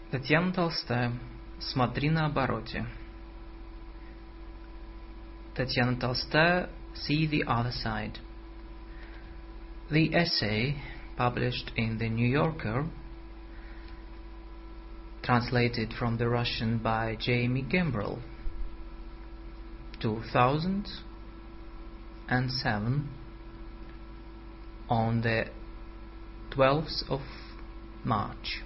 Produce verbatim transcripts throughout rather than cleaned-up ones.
Татьяна Толстая. Смотри на обороте. Татьяна Толстая. See the other side. The essay, published in the New Yorker, translated from the Russian by Jamie Gembrell, two thousand seven, on the twelfth of March.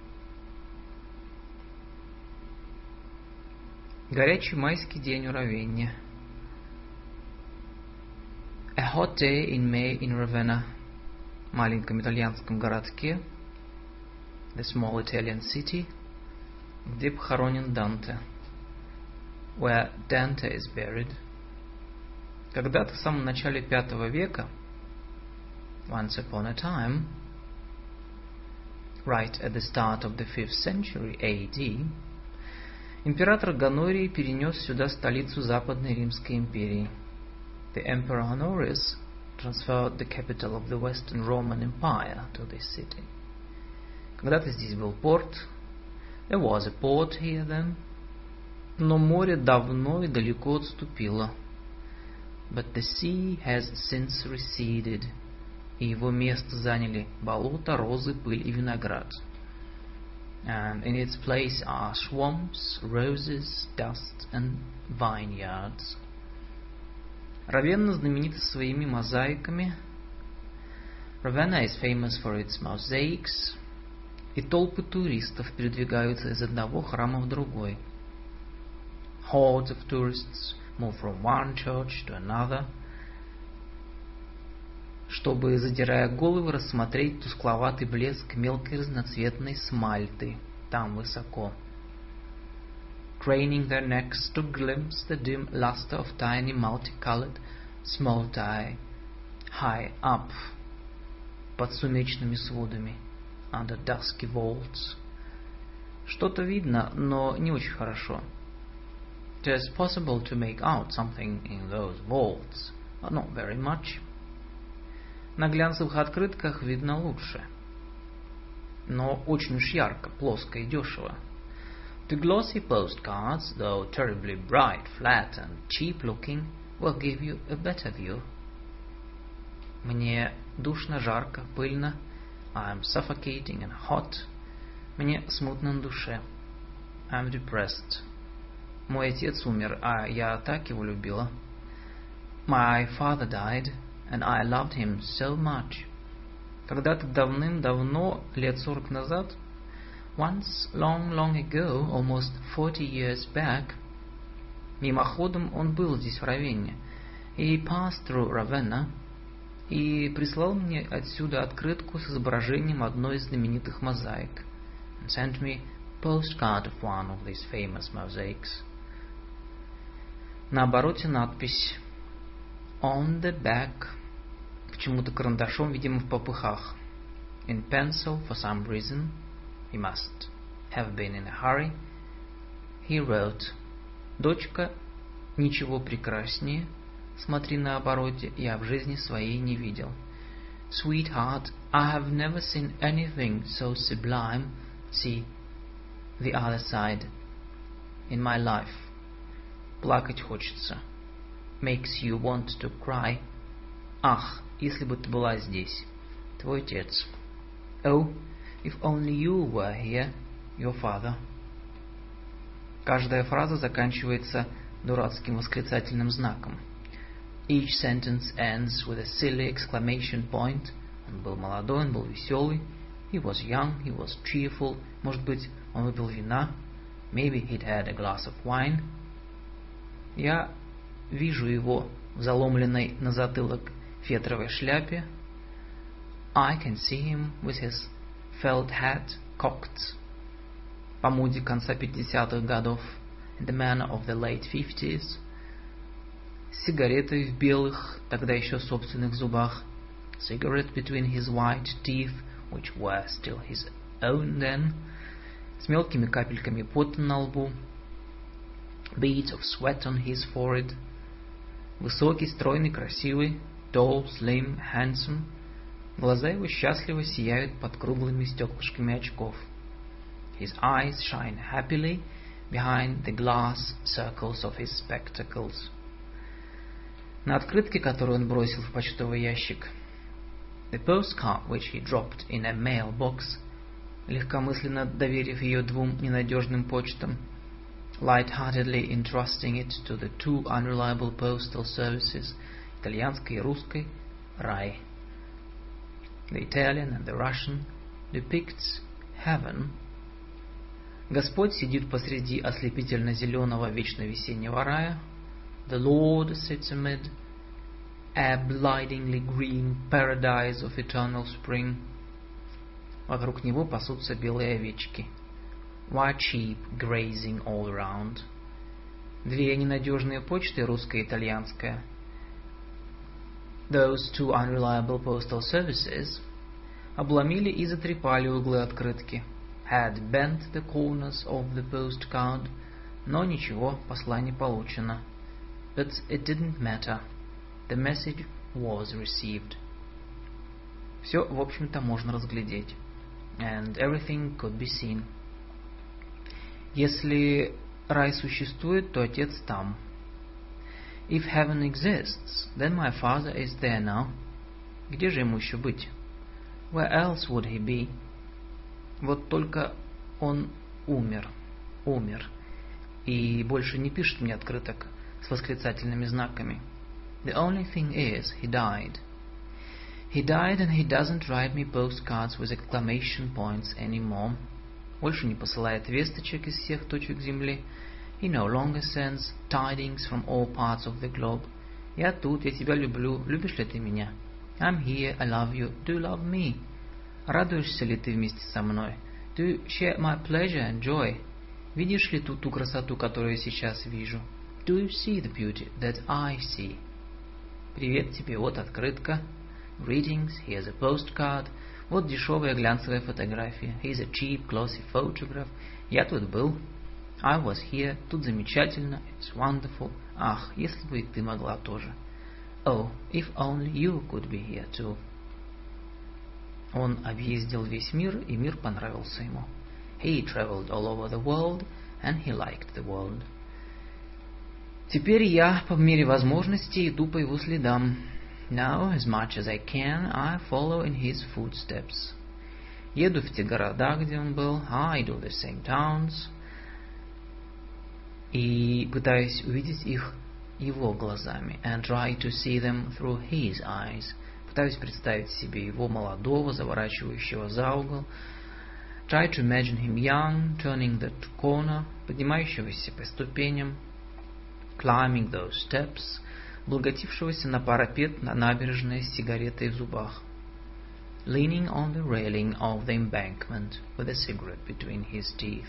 Горячий майский день у Равенны. A hot day in May in Ravenna, маленьком итальянском городке, the small Italian city, где похоронен Данте, where Dante is buried. Когда-то в самом начале пятого века, once upon a time, right at the start of the fifth century A D, император Гонорий перенес сюда столицу Западной Римской империи. The Emperor Honorius transferred the capital of the Western Roman Empire to this city. Когда-то здесь был порт. There was a port here then. Но море давно и далеко отступило. But the sea has since receded. И его место заняли болото, розы, пыль и виноград. And in its place are swamps, roses, dust and vineyards. Равенна знаменита своими мозаиками. Ravenna is famous for its mosaics. И толпы туристов передвигаются из одного храма в другой. Hordes of tourists move from one church to another, чтобы, задирая головы, рассмотреть тускловатый блеск мелкой разноцветной смальты там высоко. Craning their necks to glimpse the dim luster of tiny multicolored small-tie high up, под сумеречными сводами, under dusky vaults. Что-то видно, но не очень хорошо. It is possible to make out something in those vaults, but not very much. На глянцевых открытках видно лучше, но очень уж ярко, плоско и дешево. The glossy postcards, though terribly bright, flat and cheap-looking, will give you a better view. Мне душно, жарко, пыльно. I am suffocating and hot. Мне смутно на душе. I am depressed. Мой отец умер, а я так его любила. My father died, and I loved him so much. Когда-то давным-давно, лет сорок назад, once long, long ago, almost forty years back, мимоходом он был здесь в Равенне. He passed through Ravenna и прислал мне отсюда открытку с изображением одной из знаменитых мозаик. And sent me a postcard of one of these famous mosaics. На обороте надпись On the back, почему-то карандашом, видимо, в попыхах. In pencil, for some reason, he must have been in a hurry, he wrote, «Дочка, ничего прекраснее, смотри на обороте, я в жизни своей не видел». Sweetheart, I have never seen anything so sublime, see the other side, in my life. Плакать хочется. Makes you want to cry. Ах, если бы ты была здесь, твой отец. Oh, if only you were here, your father. Каждая фраза заканчивается дурацким восклицательным знаком. Each sentence ends with a silly exclamation point. Он был молодой, он был веселый. He was young, he was cheerful. Может быть, он выпил вина. Maybe he'd had a glass of wine. Я вижу его в заломленной на затылок фетровой шляпе. I can see him with his felt hat cocked. По моде конца пятидесятых годов. In the manner of the late fifties. С сигаретой в белых, тогда еще собственных зубах. Cigarette between his white teeth, which were still his own then. С мелкими капельками пота на лбу. Beads of sweat on his forehead. Высокий, стройный, красивый. Tall, slim, handsome. Глаза его счастливо сияют под круглыми стеклышками очков. His eyes shine happily behind the glass circles of his spectacles. На открытке, которую он бросил в почтовый ящик, the postcard which he dropped in a mailbox, легкомысленно доверив ее двум ненадежным почтам, light-heartedly entrusting it to the two unreliable postal services, итальянской и русской, рай. The Italian and the Russian depicts heaven. Господь сидит посреди ослепительно-зеленого вечно весеннего рая. The Lord sits amid a blindingly green paradise of eternal spring. Вокруг него пасутся белые овечки. White sheep grazing all around. Две ненадежные почты, русская и итальянская. Those two unreliable postal services обломили и затрепали углы открытки. Had bent the corners of the postcard, но ничего, послание получено. But it didn't matter. The message was received. Все, в общем-то, можно разглядеть. And everything could be seen. Если рай существует, то отец там. If heaven exists, then my father is there now. Где же ему еще быть? Where else would he be? Вот только он умер, умер, и больше не пишет мне открыток с восклицательными знаками. The only thing is, he died. He died and he doesn't write me postcards with exclamation points anymore. Больше не посылает весточек из всех точек земли. He no longer sends tidings from all parts of the globe. Я тут, я тебя люблю, любишь ли ты меня? I'm here, I love you, do you love me? Радуешься ли ты вместе со мной? Do you share my pleasure and joy? Видишь ли ту, ту красоту, которую я сейчас вижу? Do you see the beauty that I see? Привет тебе, вот открытка. Greetings, here's a postcard. Вот дешевая глянцевая фотография. Here's a cheap, glossy photograph. Я тут был. I was here. Тут замечательно. It's wonderful. Ах, если бы и ты могла тоже. Oh, if only you could be here too. Он объездил весь мир, и мир понравился ему. He traveled all over the world, and he liked the world. Теперь я, по мере возможности, иду по его следам. Now, as much as I can, I follow in his footsteps. Еду в те города, где он был. I do the same towns. И пытаюсь увидеть их его глазами. And try to see them through his eyes. Пытаюсь представить себе его молодого, заворачивающего за угол. Try to imagine him young, turning that corner, поднимающегося по ступеням, climbing those steps, облокотившегося на парапет на набережной с сигаретой в зубах. Leaning on the railing of the embankment with a cigarette between his teeth.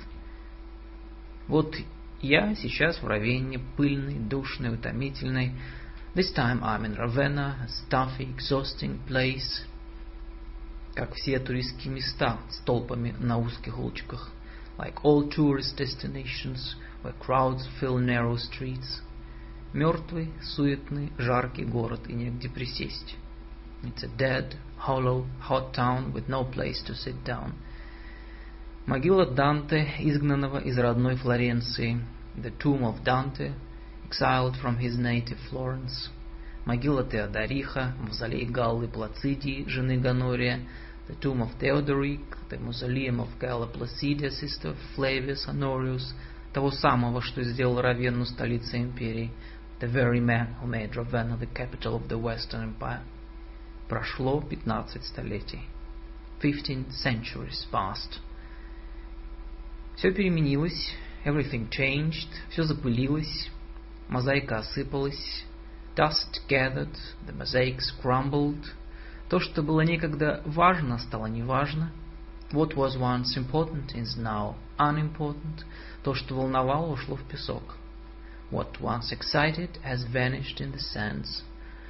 Вот я сейчас в Равенне, пыльной, душной, утомительной. This time I'm in Ravenna, a stuffy, exhausting place. Как все туристские места с толпами на узких улочках. Like all tourist destinations, where crowds fill narrow streets. Мертвый, суетный, жаркий город, и негде присесть. It's a dead, hollow, hot town with no place to sit down. Могила Данте, изгнанного из родной Флоренции. The tomb of Dante, exiled from his native Florence. Могила Теодориха, мавзолей Галлы Плацидии, жены Гонория. The tomb of Theodoric, the mausoleum of Galla Placidia, sister of Flavius Honorius, того самого, что сделал Равенну столицей империи. The very man who made Ravenna the capital of the Western Empire. Прошло пятнадцать столетий. Fifteen centuries passed. Все переменилось. Everything changed. Все запылилось. Мозаика осыпалась. Dust gathered. The mosaics crumbled. То, что было некогда важно, стало неважно. What was once important is now unimportant. То, что волновало, ушло в песок. What once excited has vanished in the sands.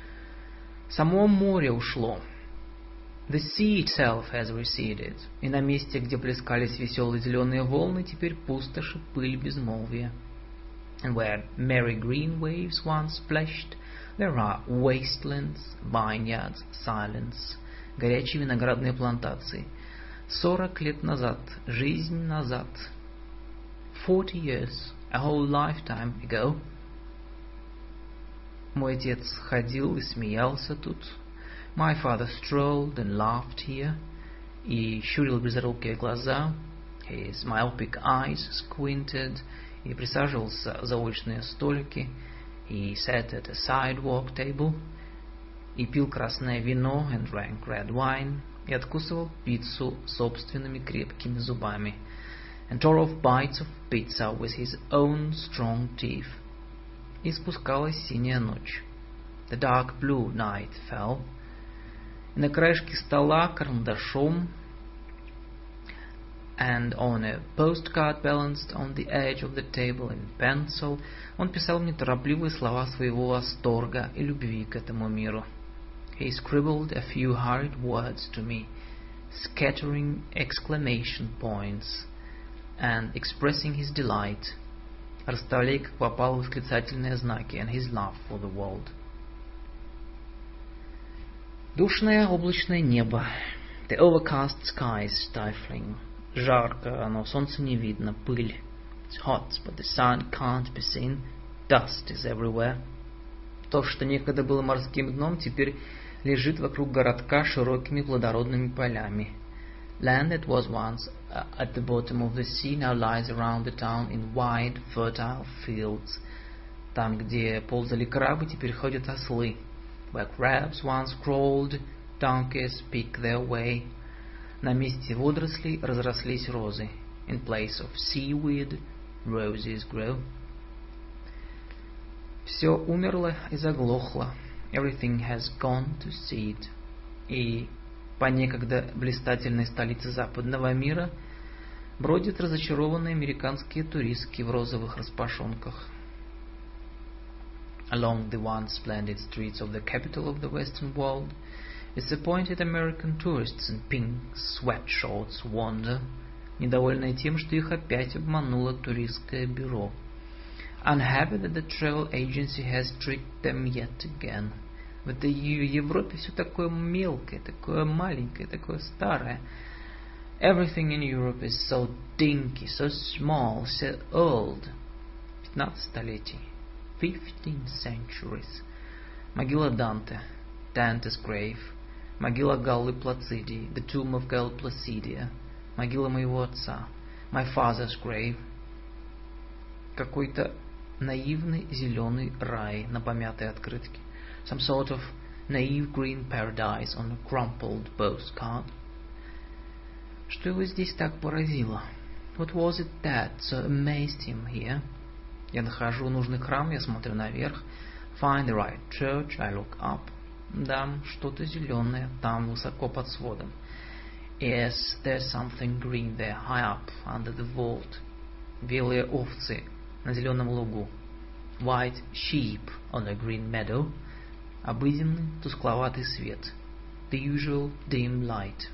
Само море ушло. The sea itself has receded. И на месте, где плескались веселые зеленые волны, теперь пустошь и пыль безмолвия. And where merry green waves once splashed, there are wastelands, vineyards, silence, горячие виноградные плантации, Сорок лет назад, жизнь назад. Forty years, a whole lifetime ago. Мой отец ходил и смеялся тут. My father strolled and laughed here. И щурил близорукие глаза. His myopic eyes squinted. И присаживался за уличные столики. He sat at a sidewalk table. И пил красное вино and drank red wine. И откусывал пиццу собственными крепкими зубами. And tore off bites of pizza with his own strong teeth. И спускалась синяя ночь. The dark blue night fell. И на краешке стола карандашом and on a postcard balanced on the edge of the table in pencil он писал мне торопливые слова своего восторга и любви к этому миру. He scribbled a few hurried words to me, scattering exclamation points and expressing his delight, расставляя как попало восклицательные знаки, and his love for the world. Душное облачное небо. The overcast sky is stifling. Жарко, но солнца не видно, пыль. It's hot, but the sun can't be seen. Dust is everywhere. То, что некогда было морским дном, теперь лежит вокруг городка широкими плодородными полями. Land that was once uh, at the bottom of the sea now lies around the town in wide, fertile fields. Там, где ползали крабы, теперь ходят ослы. Where crabs once crawled, donkeys pick their way. На месте водорослей разрослись розы. In place of seaweed, roses grow. Все умерло и заглохло. Everything has gone to seed. И по некогда блистательной столице западного мира бродят разочарованные американские туристки в розовых распашонках. Along the once splendid streets of the capital of the Western world, disappointed American tourists in pink sweatshirts wander, недовольные тем, что их опять обмануло туристское бюро. Unhappy that the travel agency has tricked them yet again. В этой Европе все такое мелкое, такое маленькое, такое старое. Everything in Europe is so dinky, so small, so old. Пятнадцать столетий. Fifteen centuries. Могила Данте. Dante's grave. Могила Галлы Плацидии. The tomb of Galla Placidia. Могила моего отца. My father's grave. Какой-то наивный зеленый рай на помятой открытке. Some sort of naive green paradise on a crumpled postcard. Что его здесь так поразило? What was it that so amazed him here? Я нахожу нужный храм, я смотрю наверх. Find the right church, I look up. Да, что-то зеленое там высоко под сводом. Yes, there's something green there, high up, under the vault. Белые овцы на зеленом лугу. White sheep on a green meadow. Обыденный тускловатый свет. The usual dim light.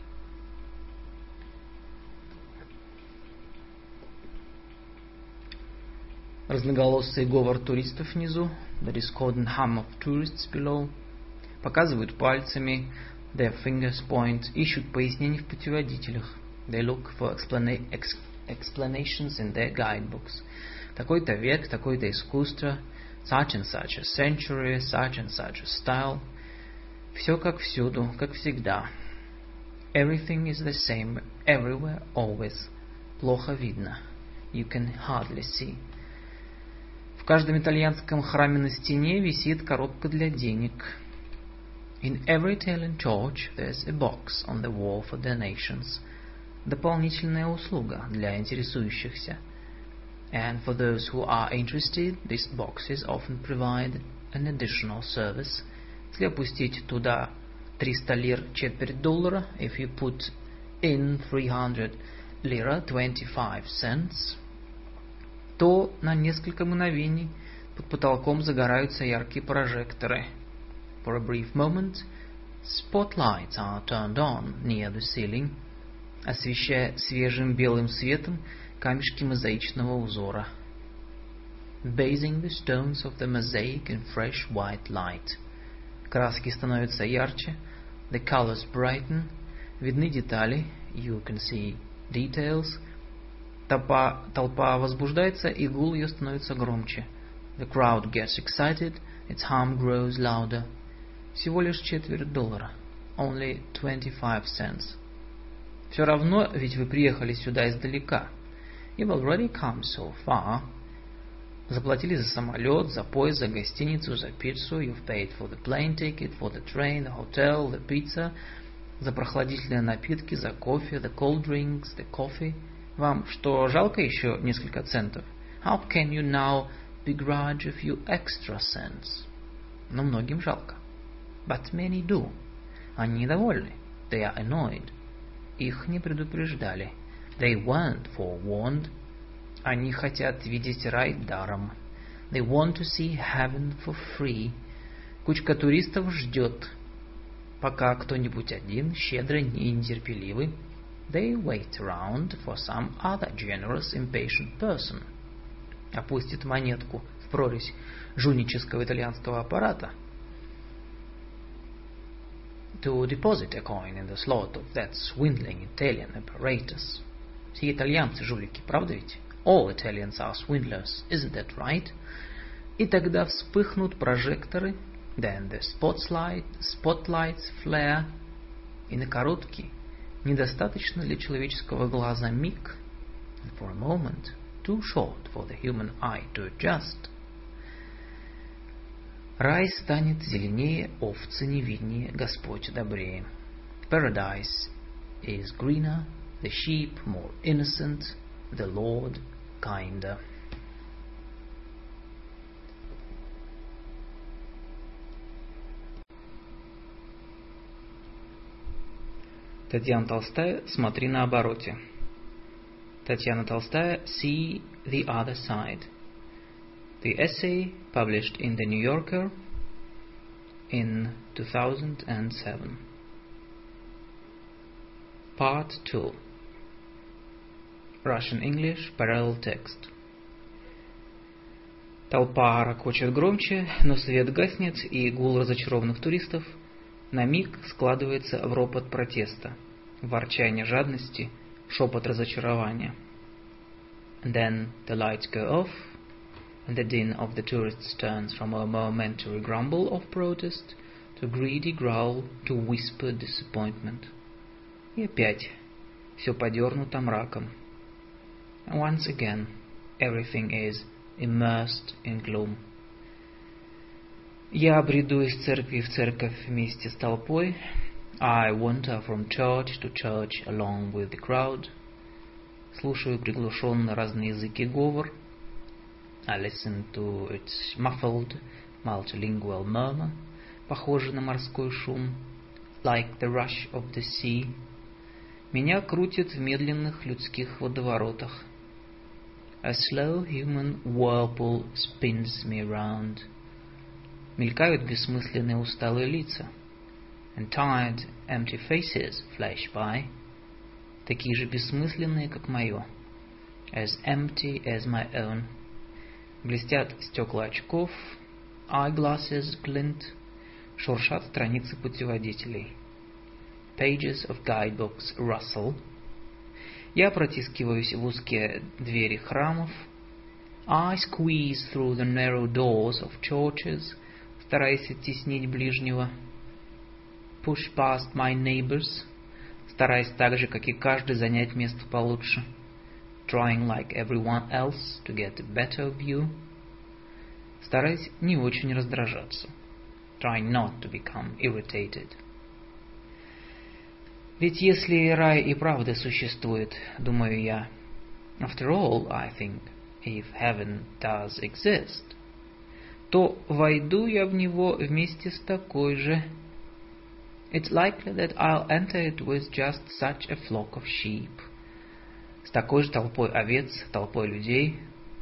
Разноголосый говор туристов внизу. The discordant hum of tourists below. Показывают пальцами. Their fingers point. Ищут пояснений в путеводителях. They look for explana- ex- explanations in their guidebooks. Такой-то век, такое-то искусство. Such and such a century, such and such a style. Все как всюду, как всегда. Everything is the same, everywhere, always. Плохо видно. You can hardly see. В каждом итальянском храме на стене висит коробка для денег. In every Italian church there's a box on the wall for donations. Дополнительная услуга для интересующихся. And for those who are interested, these boxes often provide an additional service. Если опустить туда триста лир четверть доллара, if you put in three hundred lira twenty-five cents, то на несколько мгновений под потолком загораются яркие прожекторы. For a brief moment, spotlights are turned on near the ceiling, освещая свежим белым светом камешки мозаичного узора. Bathing the stones of the mosaic in fresh white light. Краски становятся ярче, the colors brighten, видны детали, you can see details. Толпа, толпа возбуждается, и гул ее становится громче. The crowd gets excited, its hum grows louder. Всего лишь четверть доллара. Only twenty-five cents. Все равно, ведь вы приехали сюда издалека. You've already come so far. Заплатили за самолет, за поезд, за гостиницу, за пиццу. You've paid for the plane ticket, for the train, the hotel, the pizza. За прохладительные напитки, за кофе, the cold drinks, the coffee. Вам что, жалко еще несколько центов? How can you now begrudge a few extra cents? Но многим жалко. But many do. Они недовольны. They are annoyed. Их не предупреждали. They weren't forewarned. Они хотят видеть рай даром. They want to see heaven for free. Кучка туристов ждет, пока кто-нибудь один, щедрый и нетерпеливый. They wait around for some other generous, impatient person. Опустит монетку в прорезь жульнического итальянского аппарата. To deposit a coin in the slot of that swindling Italian apparatus. Все итальянцы жулики, правда ведь? All Italians are swindlers, isn't that right? И тогда вспыхнут прожекторы, then the spotlight, spotlights flare, и на короткий, недостаточно для человеческого глаза миг, and for a moment, too short for the human eye to adjust, рай станет зеленее, овцы невиднее, Господь добрее. Paradise is greener, the sheep more innocent, the Lord kinder. Татьяна Толстая, смотри на обороте. Татьяна Толстая, see the other side. The essay published in the New Yorker in two thousand seven. Part two. Russian-English parallel text. Толпа ракочет громче, но свет гаснет, и гул разочарованных туристов на миг складывается в ропот протеста, в ворчание жадности, шепот разочарования. And then the lights go off, and the din of the tourists turns from a momentary grumble of protest to greedy growl, to whispered disappointment. И опять все подернуто мраком. And once again, everything is immersed in gloom. Я бреду из церкви в церковь вместе с толпой. I wander from church to church along with the crowd. Слушаю приглушенно разные языки говор. I listen to its muffled, multilingual murmur, похожий на морской шум, like the rush of the sea. Меня крутит в медленных людских водоворотах. A slow human whirlpool spins me round. Мелькают бессмысленные усталые лица. And tired, empty faces flash by. Такие же бессмысленные, как мое. As empty as my own. Блестят стекла очков. Eyeglasses glint. Шуршат страницы путеводителей. Pages of guidebooks rustle. Я протискиваюсь в узкие двери храмов. I squeeze through the narrow doors of churches, стараясь оттеснить ближнего. Push past my neighbors, стараясь так же, как и каждый, занять место получше. Trying like everyone else to get a better view. Стараясь не очень раздражаться. Trying not to become irritated. Ведь если рай и правда существует, думаю я, after all, I think, if heaven does exist, то войду я в него вместе с такой же. It's likely that I'll enter it with just such a flock of sheep. С такой же толпой овец, толпой людей.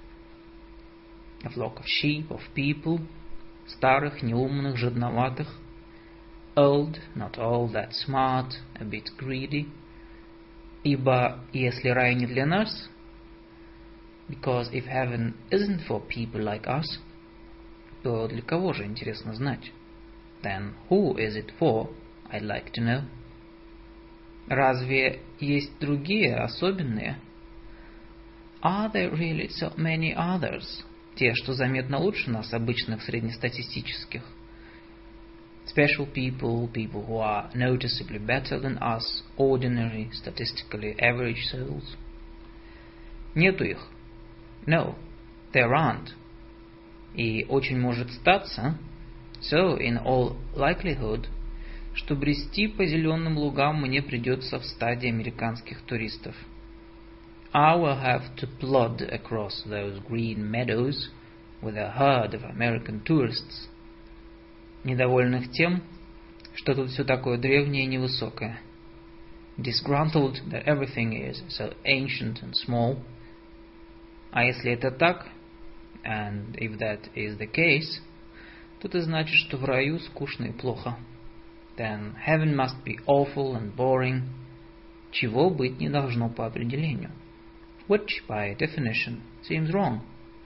A flock of sheep, of people, старых, неумных, жадноватых. Old, not all that smart, a bit greedy. Ибо если рай не для нас, because if heaven isn't for people like us, то для кого же, интересно знать? Then who is it for? I'd like to know. Разве есть другие, особенные? Are there really so many others? Те, что заметно лучше нас, обычных среднестатистических. Special people, people who are noticeably better than us, ordinary, statistically average souls. Нету их. No, there aren't. И очень может статься, so in all likelihood, что брести по зеленым лугам мне придется в стадии американских туристов. I will have to plod across those green meadows with a herd of American tourists, недовольных тем, что тут все такое древнее и невысокое. Disgruntled that everything is so ancient and small. А если это так, and if that is the case, то это значит, что в раю скучно и плохо. Then heaven must be awful and boring, чего быть не должно по определению. Which, by definition, seems wrong.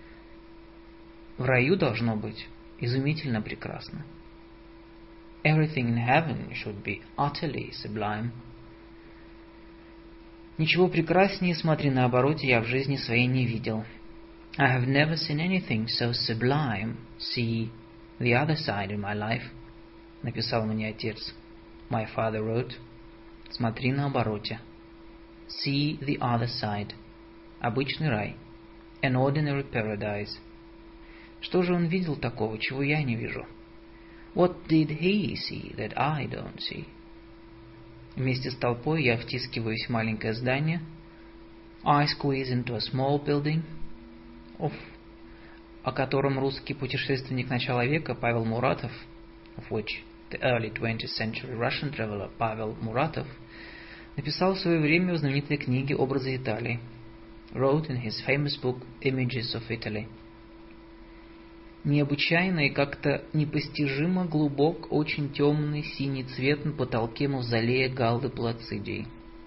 В раю должно быть изумительно прекрасно. Everything in heaven should be utterly sublime. Ничего прекраснее, смотри на обороте, я в жизни своей не видел. I have never seen anything so sublime. See the other side in my life. Написал мне отец. My father wrote. Смотри на обороте. See the other side. Обычный рай. An ordinary paradise. Что же он видел такого, чего я не вижу? What did he see that I don't see? Вместе с толпой я втискиваюсь в маленькое здание. I squeeze into a small building. Of, о котором русский путешественник начала века Павел Муратов, of which the early twentieth century Russian traveler Pavel Muratov написал в свое время в знаменитой книге «Образы Италии», wrote in his famous book Images of Italy. Необычайно и как-то непостижимо глубок очень темный синий цвет на потолке мавзолея Галлы Плацидии.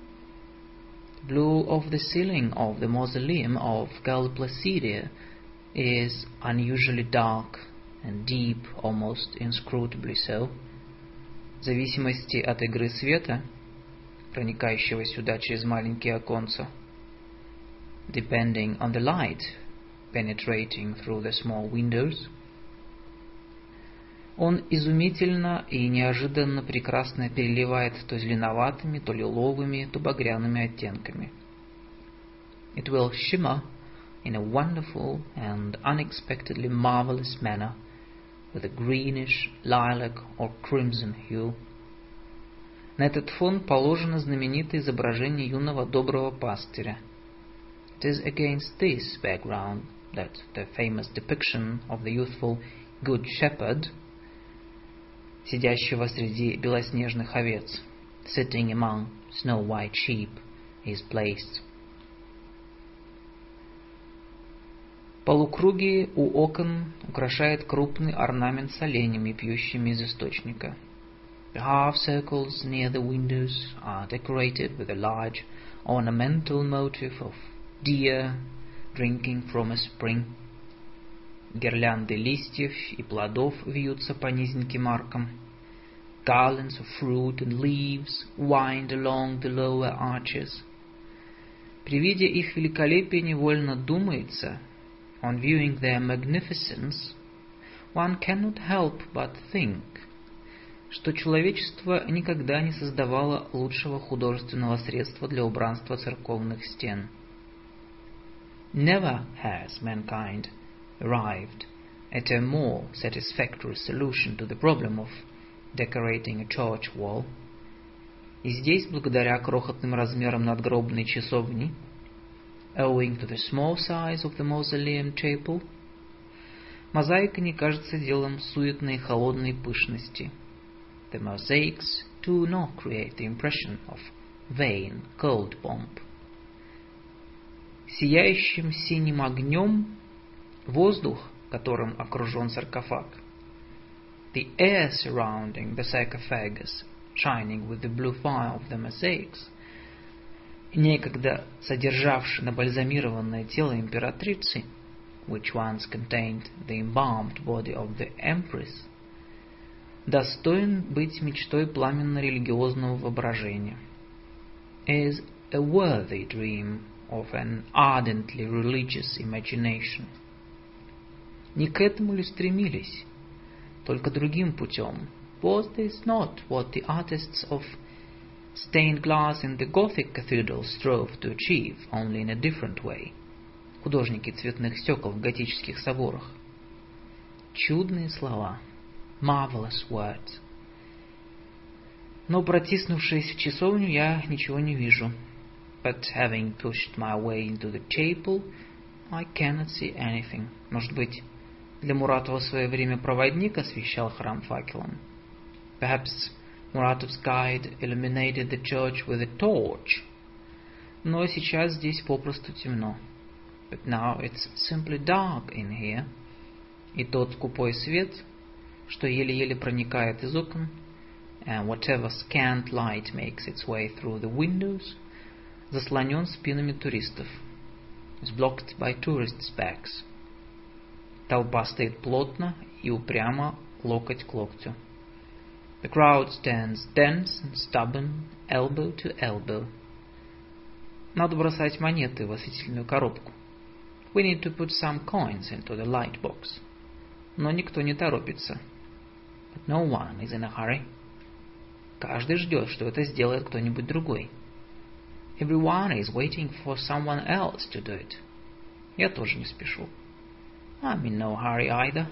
Blue of the ceiling of the mausoleum of Galla Placidia is unusually dark and deep, almost inscrutably so. В зависимости от игры света, проникающего сюда через маленькие оконца, depending on the light penetrating through the small windows, он изумительно и неожиданно прекрасно переливает то зеленоватыми, то лиловыми, то багряными оттенками. It will shimmer in a wonderful and unexpectedly marvelous manner with a greenish, lilac or crimson hue. На этот фон положено знаменитое изображение юного доброго пастыря. It is against this background that the famous depiction of the youthful good shepherd, сидящего среди белоснежных овец, sitting among snow-white sheep, is placed. Полукруги у окон украшает крупный орнамент с оленями, пьющими из источника. The half circles near the windows are decorated with a large ornamental motif of deer drinking from a spring. Гирлянды листьев и плодов вьются по низеньким аркам. Garlands of fruit and leaves wind along the lower arches. При виде их великолепия невольно думается, on viewing their magnificence, one cannot help but think, что человечество никогда не создавало лучшего художественного средства для убранства церковных стен. Never has mankind arrived at a more satisfactory solution to the problem of decorating a church wall. И здесь, благодаря крохотным размерам надгробной часовни, owing to the small size of the mausoleum chapel, мозаика не кажется делом суетной и холодной пышности. The mosaics do not create the impression of vain, cold pomp. Сияющим синим огнем воздух, которым окружен саркофаг, the air surrounding the sarcophagus, shining with the blue fire of the mosaics, некогда содержавший набальзамированное тело императрицы, which once contained the embalmed body of the empress, достоин быть мечтой пламенно-религиозного воображения. is a worthy dream of an ardently religious imagination. Не к этому ли стремились, только другим путем? Was this not what the artists of stained glass in the Gothic cathedral strove to achieve, only in a different way? Художники цветных стекол в готических соборах. Чудные слова. Marvelous words. Но протиснувшись в часовню, я ничего не вижу. But having pushed my way into the chapel, I cannot see anything. Может быть, для Муратова в свое время проводник освещал храм факелом? Perhaps Muratov's guide illuminated the church with a torch. Но сейчас здесь попросту темно. But now it's simply dark in here. И тот скупой свет, что еле-еле проникает из окон, and whatever scant light makes its way through the windows, заслонен спинами туристов, is blocked by tourists' backs. Толпа стоит плотно и упрямо, локоть к локтю. The crowd stands dense and stubborn, elbow to elbow. Надо бросать монеты в осветительную коробку. We need to put some coins into the light box. Но никто не торопится. But no one is in a hurry. Каждый ждет, что это сделает кто-нибудь другой. Everyone is waiting for someone else to do it. Я тоже не спешу. I'm in no hurry either.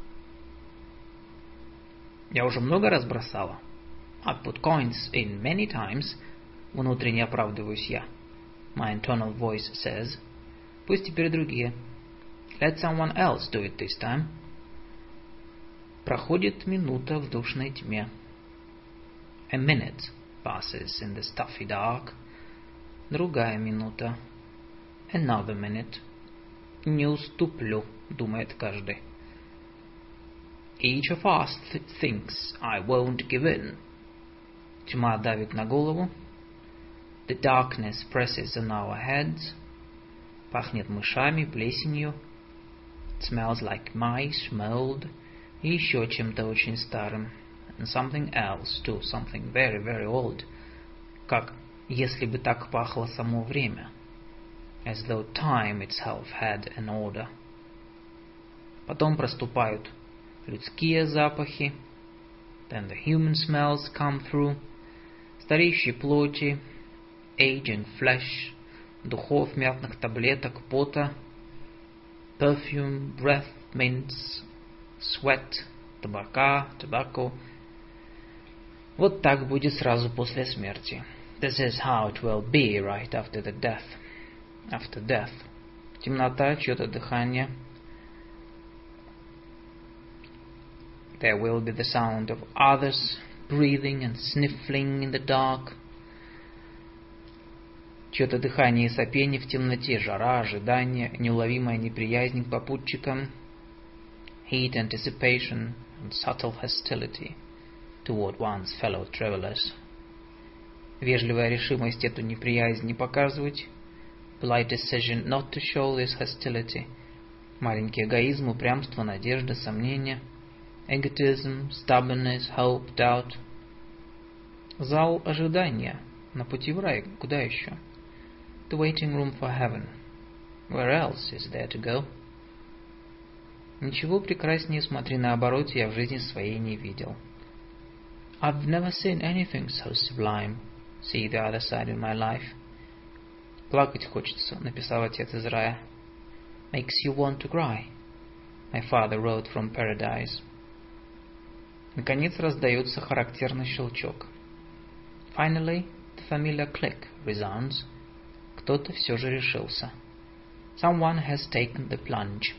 Я уже много раз бросала. I've put coins in many times. Внутренне оправдываюсь я. My internal voice says. Пусть теперь другие. Let someone else do it this time. Проходит минута в душной тьме. A minute passes in the stuffy dark. Другая минута. Another minute. Не уступлю, думает каждый. Each of us th- thinks I won't give in. Тьма давит на голову. The darkness presses on our heads. Пахнет мышами, плесенью. It smells like mice, mold. И еще чем-то очень старым. And something else too, something very, very old. Как если бы так пахло само время. As though time itself had an odor. Потом проступают людские запахи. Then the human smells come through. Стареющей плоти, aging flesh, духов, мятных таблеток, пота, perfume, breath, mints, sweat, табака, tobacco. Вот так будет сразу после смерти. This is how it will be right after the death. After death. Темнота, чье-то дыхание. There will be the sound of others breathing and sniffling in the dark. Чье-то дыхание и сопение в темноте, жара, ожидание, неуловимая неприязнь к попутчикам. Heat, anticipation, and subtle hostility toward one's fellow travelers. Вежливая решимость эту неприязнь не показывать. Polite decision not to show this hostility. Маленький эгоизм, упрямство, надежда, сомнение. Egotism, stubbornness, hope, doubt. Зал ожидания. На пути в рай. Куда еще? The waiting room for heaven. Where else is there to go? Ничего прекраснее, смотри на обороте, я в жизни своей не видел. I've never seen anything so sublime. See the other side in my life. Плакать хочется, написал отец из рая. Makes you want to cry. My father wrote from paradise. Наконец раздается характерный щелчок. Finally, the familiar click resounds. Кто-то все же решился. Someone has taken the plunge.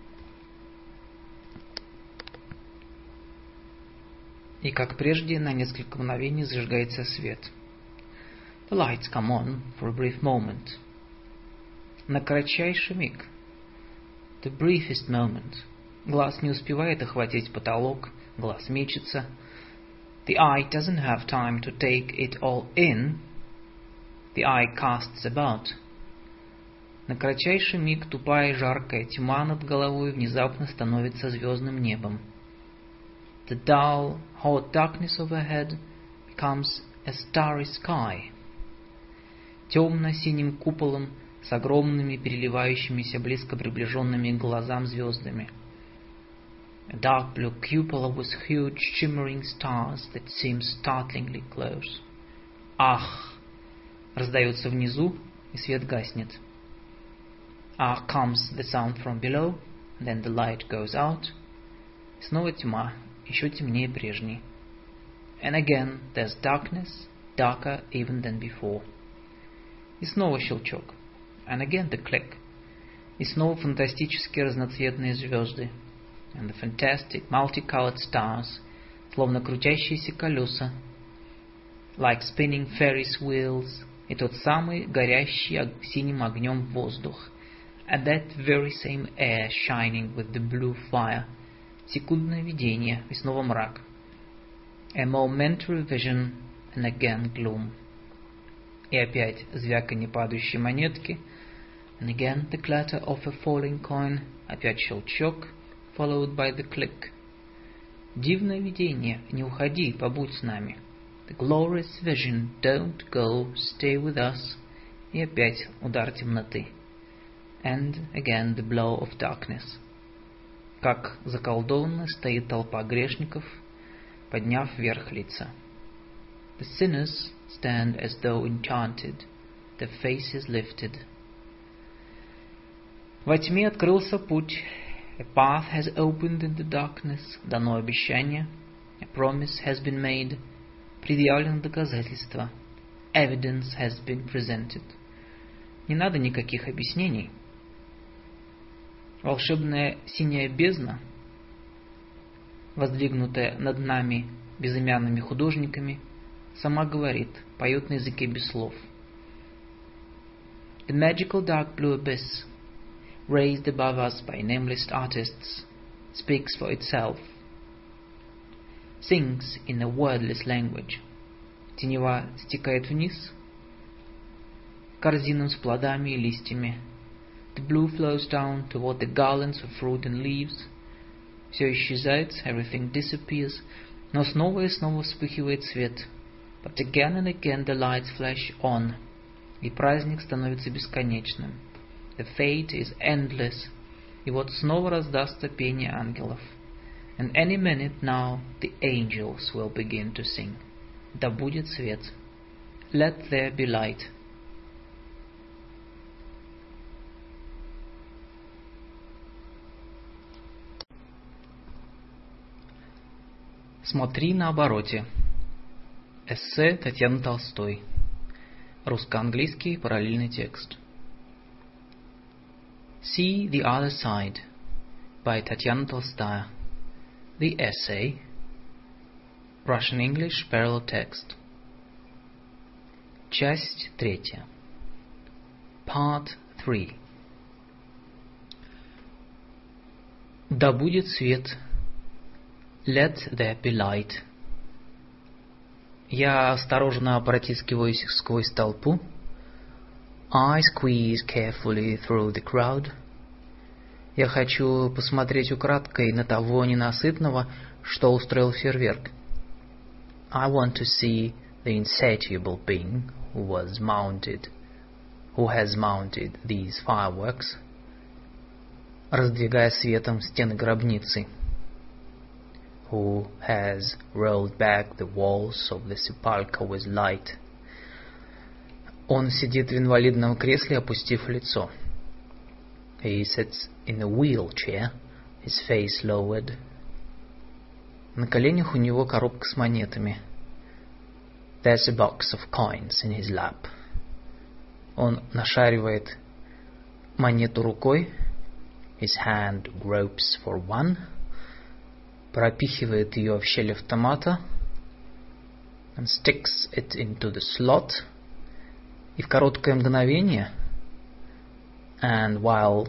И как прежде, на несколько мгновений зажигается свет. The lights come on for a brief moment. На кратчайший миг. The briefest moment. Глаз не успевает охватить потолок, глаз мечется. The eye doesn't have time to take it all in. The eye casts about. На кратчайший миг тупая жаркая тьма над головой внезапно становится звездным небом. The dull, hot darkness overhead becomes a starry sky. темно-синим куполом с огромными переливающимися близко приближенными к глазам звездами. A dark blue cupola with huge shimmering stars that seem startlingly close. Ах! Раздается внизу, и свет гаснет. Ah comes the sound from below, then the light goes out. И снова тьма, еще темнее прежней. And again there's darkness, darker even than before. И снова щелчок. And again the click. И снова фантастические разноцветные звезды. And the fantastic multicolored stars, словно крутящиеся колеса. Like spinning Ferris wheels. И тот самый горящий синим огнем воздух. And that very same air shining with the blue fire. Секундное видение, и снова мрак. A momentary vision, and again gloom. И опять звяканье падающей монетки. And again the clatter of a falling coin. Опять щелчок, followed by the click. Дивное видение, не уходи, побудь с нами. The glorious vision, don't go, stay with us. И опять удар темноты. And again the blow of darkness. Как заколдованно стоит толпа грешников, подняв вверх лица. The sinners stand as though enchanted, their faces lifted. Во тьме открылся путь. A path has opened in the darkness. Дано обещание. A promise has been made. Предъявлено доказательство. Evidence has been presented. Не надо никаких объяснений. Волшебная синяя бездна, воздвигнутая над нами безымянными художниками, сама говорит, поет на языке без слов. The magical dark blue abyss, raised above us by nameless artists, speaks for itself, sings in a wordless language. Тенева стекает вниз, корзинам с плодами и листьями. The blue flows down toward the garlands of fruit and leaves. Все исчезает, everything disappears, но снова и снова вспыхивает свет. But again and again the lights flash on, и праздник становится бесконечным. The fate is endless, и вот снова раздастся пение ангелов. And any minute now the angels will begin to sing. Да будет свет. Let there be light. Смотри на обороте. Эссе Татьяны Толстой. Русско-английский параллельный текст. See the Other Side by Tatiana Tolstoy. The essay. Russian-English parallel text. Часть третья. Part three. Да будет свет. Let there be light. Я осторожно протискиваюсь сквозь толпу. I squeeze carefully through the crowd. Я хочу посмотреть украдкой на того ненасытного, что устроил фейерверк. I want to see the insatiable being who was mounted, who has mounted these fireworks, раздвигая светом стены гробницы, who has rolled back the walls of the sepulchre with light. Он сидит в инвалидном кресле, опустив лицо. He sits in a wheelchair, his face lowered. На коленях у него коробка с монетами. There's a box of coins in his lap. Он нашаривает монету рукой. His hand gropes for one. Пропихивает ее в щель автомата. And sticks it into the slot. И в короткое мгновение, and while,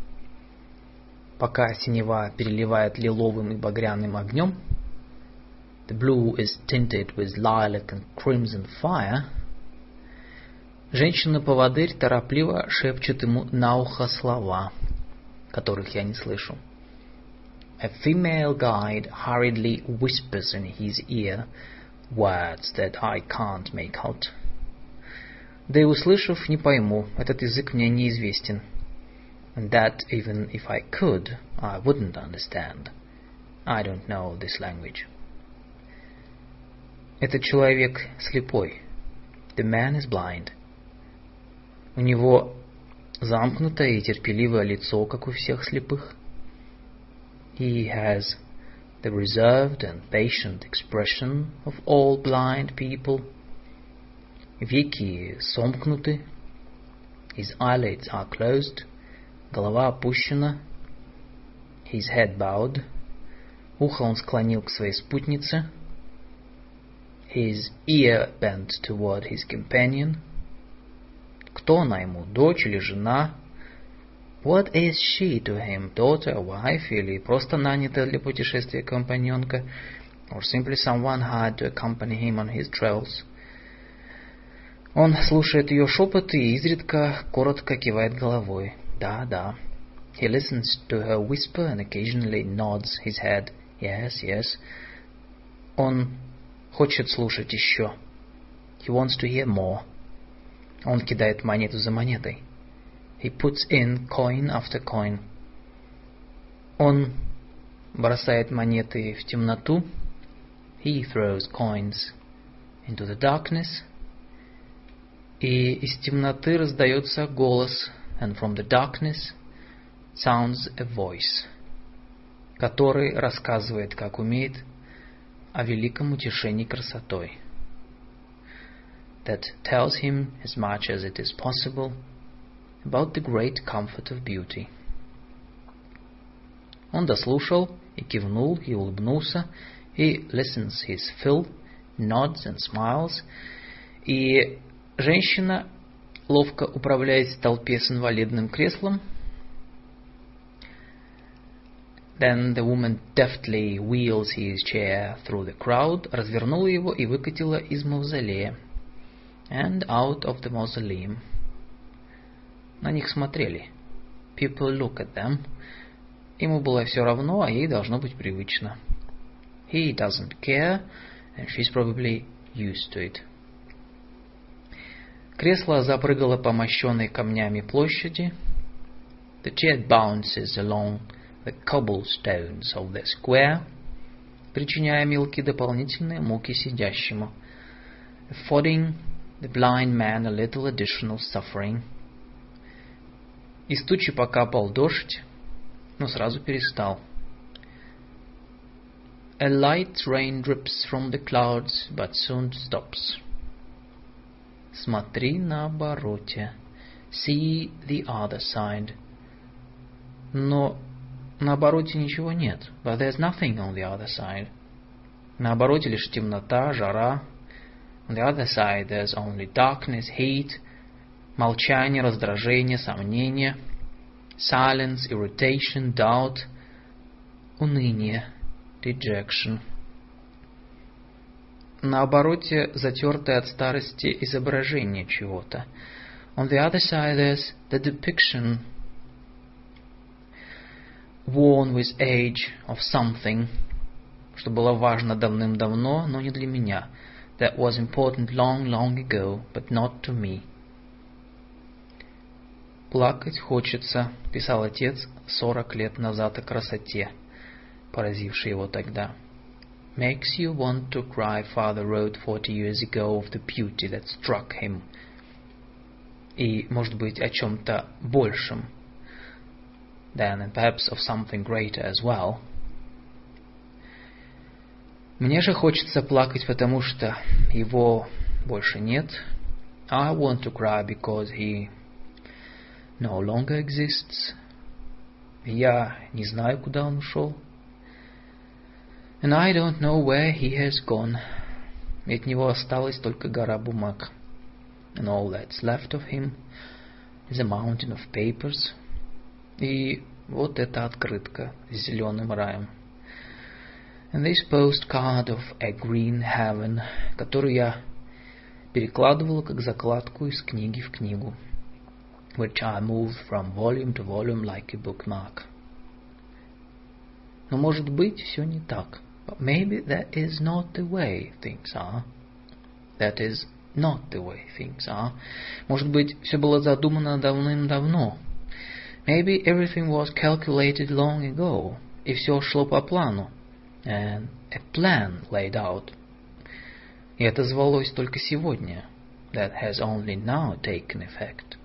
пока синева переливает лиловым и багряным огнем, the blue is tinted with lilac and crimson fire, женщина-поводырь торопливо шепчет ему на ухо слова, которых я не слышу. A female guide hurriedly whispers in his ear words that I can't make out. Да и услышав, не пойму, этот язык мне неизвестен. And that even if I could, I wouldn't understand. I don't know this language. Этот человек слепой. The man is blind. У него замкнутое и терпеливое лицо, как у всех слепых. He has the reserved and patient expression of all blind people. Веки сомкнуты. His eyelids are closed. Голова опущена. His head bowed. Ухо он склонил к своей спутнице. His ear bent toward his companion. Кто она ему, дочь или жена? What is she to him, daughter, wife, или просто нанятая для путешествия компаньонка, or simply someone hired to accompany him on his travels? Он слушает ее шепоты и изредка коротко кивает головой. Да, да. He listens to her whisper and occasionally nods his head. Yes, yes. Он хочет слушать еще. He wants to hear more. Он кидает монету за монетой. He puts in coin after coin. Он бросает монеты в темноту. He throws coins into the darkness. И из темноты раздается голос, and from the darkness sounds a voice, который рассказывает, как умеет, о великом утешении красотой. That tells him as much as it is possible about the great comfort of beauty. Он дослушал и кивнул и улыбнулся. He listens his fill, nods and smiles. И женщина, ловко управляясь в толпе с инвалидным креслом, then the woman deftly wheels his chair through the crowd, развернула его и выкатила из мавзолея, and out of the mausoleum. На них смотрели. People look at them. Ему было все равно, а ей должно быть привычно. He doesn't care, and she's probably used to it. Кресло запрыгало по мощенной камнями площади. The chair bounces along the cobblestones of the square, причиняя мелкие дополнительные муки сидящему, affording the blind man a little additional suffering. Из тучи покапал дождь, но сразу перестал. A light rain drips from the clouds, but soon stops. Смотри на обороте. See the other side. Но на обороте ничего нет. But there's nothing on the other side. На обороте лишь темнота, жара. On the other side there's only darkness, heat, молчание, раздражение, сомнение, silence, irritation, doubt, уныние, dejection. На обороте затертое от старости изображение чего-то. On the other side there's the depiction, worn with age, of something, что было важно давным-давно, но не для меня. That was important long, long ago, but not to me. «Плакать хочется», — писал отец сорок лет назад о красоте, поразившей его тогда. «Makes you want to cry», father wrote forty years ago of the beauty that struck him. И, может быть, о чем-то большем, then and perhaps of something greater as well. Мне же хочется плакать, потому что его больше нет. I want to cry because he no longer exists. Я не знаю, куда он ушел. And I don't know where he has gone. И от него осталась только гора бумаг. And all that's left of him is a mountain of papers. И вот эта открытка с зеленым раем. And this postcard of a green heaven, которую я перекладывал как закладку из книги в книгу, which I moved from volume to volume like a bookmark. Но, может быть, все не так. But maybe that is not the way things are. That is not the way things are. Может быть, все было задумано давным-давно. Maybe everything was calculated long ago, и все шло по плану. And a plan laid out. И это звалось только сегодня. That has only now taken effect.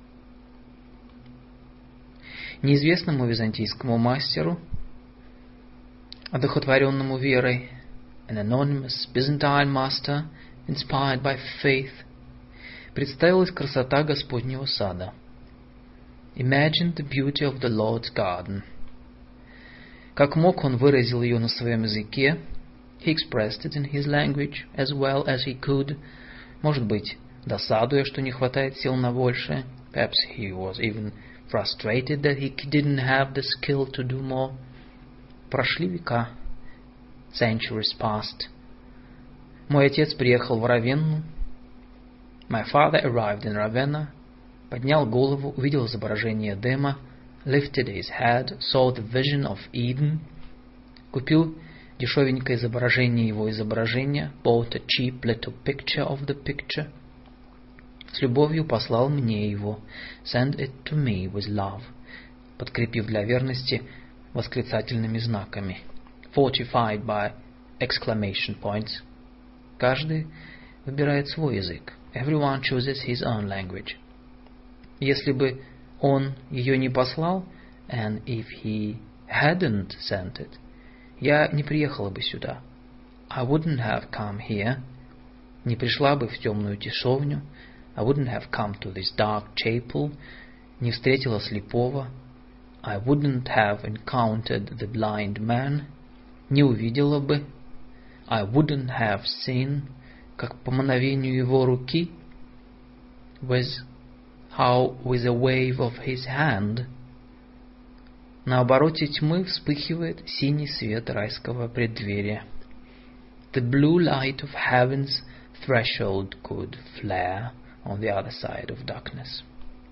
Неизвестному византийскому мастеру, одухотворенному верой, an anonymous Byzantine master, inspired by faith, представилась красота Господнего сада. Imagined the beauty of the Lord's garden. Как мог, он выразил ее на своем языке. He expressed it in his language as well as he could. Может быть, досадуя, что не хватает сил на большее. Perhaps he was even frustrated that he didn't have the skill to do more. Прошли века. Centuries passed. Мой отец приехал в Равенну. My father arrived in Ravenna. Поднял голову, увидел изображение Эдема. Lifted his head, saw the vision of Eden. Купил дешевенькое изображение его изображения. Bought a cheap little picture of the picture. С любовью послал мне его. Send it to me with love. Подкрепив для верности восклицательными знаками. Fortified by exclamation points. Каждый выбирает свой язык. Everyone chooses his own language. Если бы он ее не послал, and if he hadn't sent it, я не приехала бы сюда. I wouldn't have come here. Не пришла бы в темную тесовню. I wouldn't have come to this dark chapel. Не встретила слепого. I wouldn't have encountered the blind man. Не увидела бы. I wouldn't have seen, как по мановению его руки, with how with a wave of his hand. На обороте тьмы вспыхивает синий свет райского преддверия. The blue light of heaven's threshold could flare on the other side of darkness.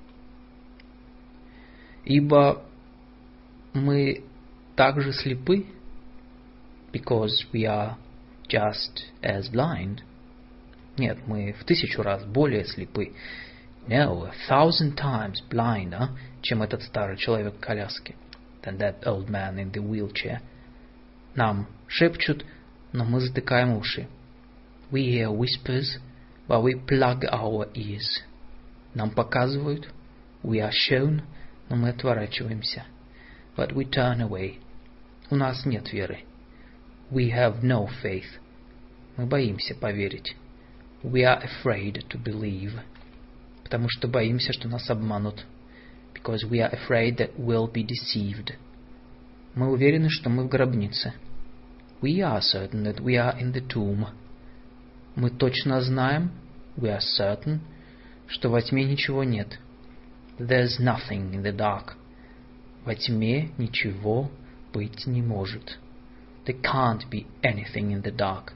Ибо мы также слепы, because we are just as blind. Нет, мы в тысячу раз более слепы. No, a thousand times blinder, чем этот старый человек в коляске. Than that old man in the wheelchair. Нам шепчут, но мы затыкаем уши. We hear whispers, but we plug our ears. Нам показывают, we are shown, но мы отворачиваемся. But we turn away. У нас нет веры. We have no faith. Мы боимся поверить. We are afraid to believe. Потому что боимся, что нас обманут. Because we are afraid that we'll be deceived. Мы уверены, что мы в гробнице. We are certain that we are in the tomb. Мы точно знаем, we are certain, что во тьме ничего нет. There's nothing in the dark. Во тьме ничего быть не может. There can't be anything in the dark.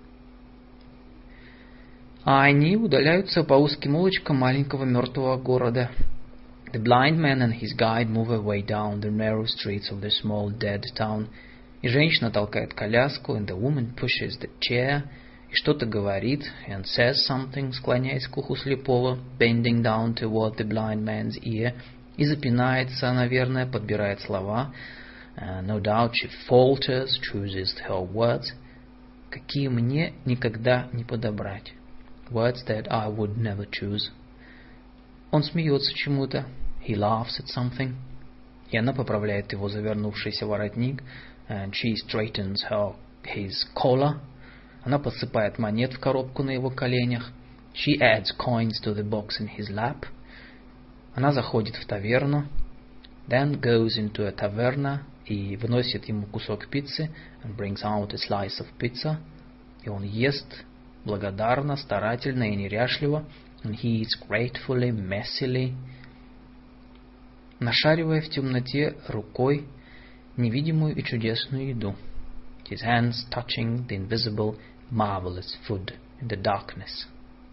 А они удаляются по узким улочкам маленького мертвого города. The blind man and his guide move away down the narrow streets of the small dead town. И женщина толкает коляску, and the woman pushes the chair, и что-то говорит, and says something, склоняясь к уху слепого, bending down toward the blind man's ear, и запинается, наверное, подбирает слова. Uh, no doubt she falters, chooses her words, какие мне никогда не подобрать. Words that I would never choose. Он смеется чему-то. He laughs at something. И она поправляет его завернувшийся воротник. And she straightens her, his collar. Она подсыпает монет в коробку на его коленях. She adds coins to the box in his lap. Она заходит в таверну. Then goes into a taverna и выносит ему кусок пиццы. And brings out a slice of pizza. И он ест благодарно, старательно и неряшливо. And he eats gratefully, messily, нашаривая в темноте рукой невидимую и чудесную еду. His hands touching the invisible, marvelous food in the darkness.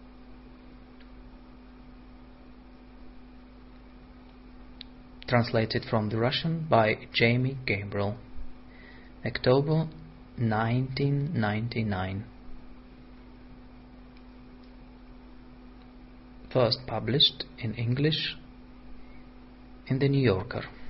Translated from the Russian by Jamie Gabriel. October nineteen ninety-nine. first published in English in the New Yorker.